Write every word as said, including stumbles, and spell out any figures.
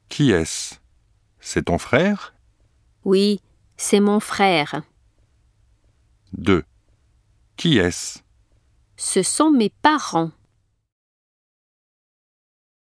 Qui est-ce? C'est ton frère? Oui, c'est mon frère. deux. Qui est-ce? Ce sont mes parents.